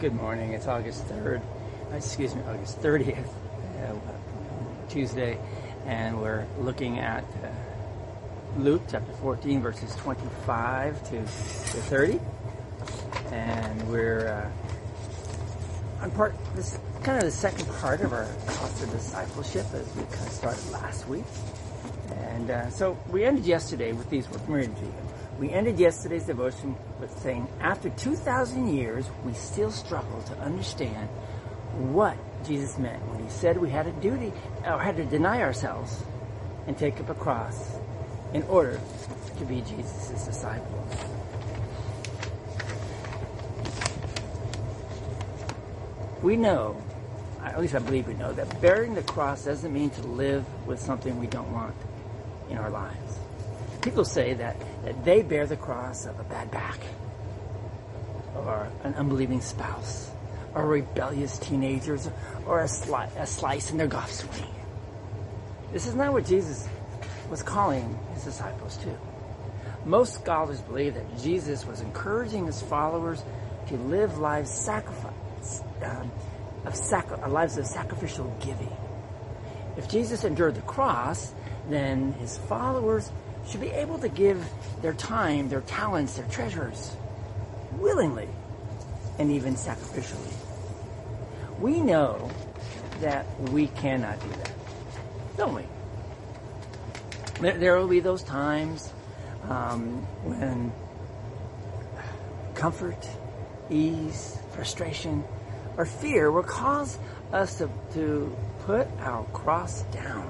Good morning. It's August 30th, Tuesday, and we're looking at Luke chapter 14, verses 25 to 30. And we're on this kind of the second part of our cost of discipleship as we kind of started last week. And so we ended yesterday with these words. We ended yesterday's devotion with saying, after 2,000 years, we still struggle to understand what Jesus meant when he said we had a duty, or had to deny ourselves and take up a cross in order to be Jesus' disciples. We know, at least I believe we know, that bearing the cross doesn't mean to live with something we don't want in our lives. People say that they bear the cross of a bad back, or an unbelieving spouse, or rebellious teenagers, or a slice in their golf swing. This is not what Jesus was calling his disciples to. Most scholars believe that Jesus was encouraging his followers to live lives lives of sacrificial giving. If Jesus endured the cross, then his followers should be able to give their time, their talents, their treasures willingly and even sacrificially. We know that we cannot do that, don't we? There will be those times when comfort, ease, frustration, or fear will cause us to put our cross down.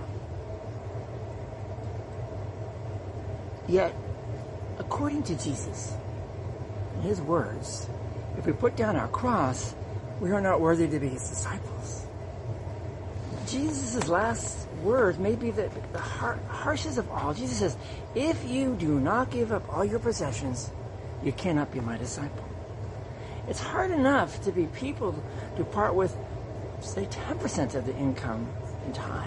Yet, according to Jesus, in his words, if we put down our cross, we are not worthy to be his disciples. Jesus' last words may be the harshest of all. Jesus says, if you do not give up all your possessions, you cannot be my disciple. It's hard enough to be people to part with, say, 10% of the income in tithe.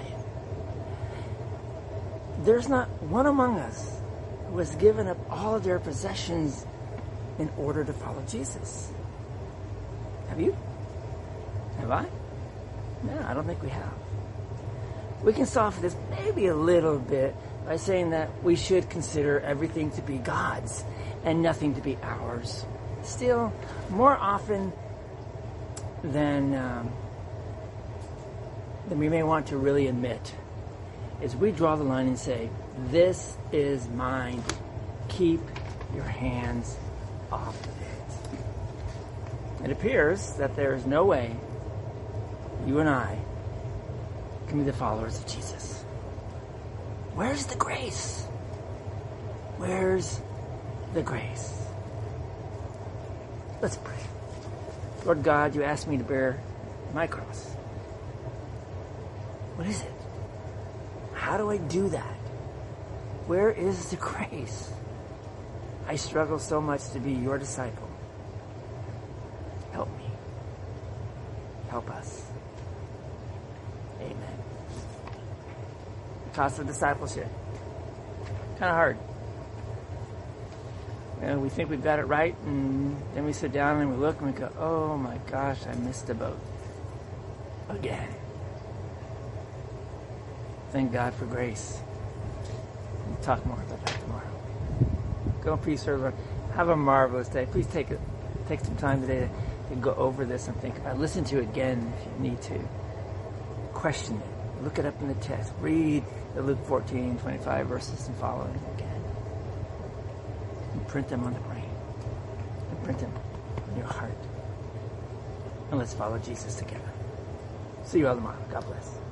There's not one among us who has given up all of their possessions in order to follow Jesus. Have you? Have I? No, I don't think we have. We can soften this maybe a little bit by saying that we should consider everything to be God's and nothing to be ours. Still, more often than we may want to really admit, is we draw the line and say, this is mine. Keep your hands off of it. It appears that there is no way you and I can be the followers of Jesus. Where's the grace? Where's the grace? Let's pray. Lord God, you asked me to bear my cross. What is it? How do I do that? Where is the grace? I struggle so much to be your disciple. Help me. Help us. Amen. The cost of discipleship. Kind of hard. And we think we've got it right, and then we sit down and we look and we go, oh my gosh, I missed the boat. Again. Thank God for grace. We'll talk more about that tomorrow. Go in peace, everyone. Have a marvelous day. Please take some time today to go over this and think about it. Listen to it again if you need to. Question it. Look it up in the text. Read the Luke 14, 25 verses and following again. And print them on the brain. And print them on your heart. And let's follow Jesus together. See you all tomorrow. God bless.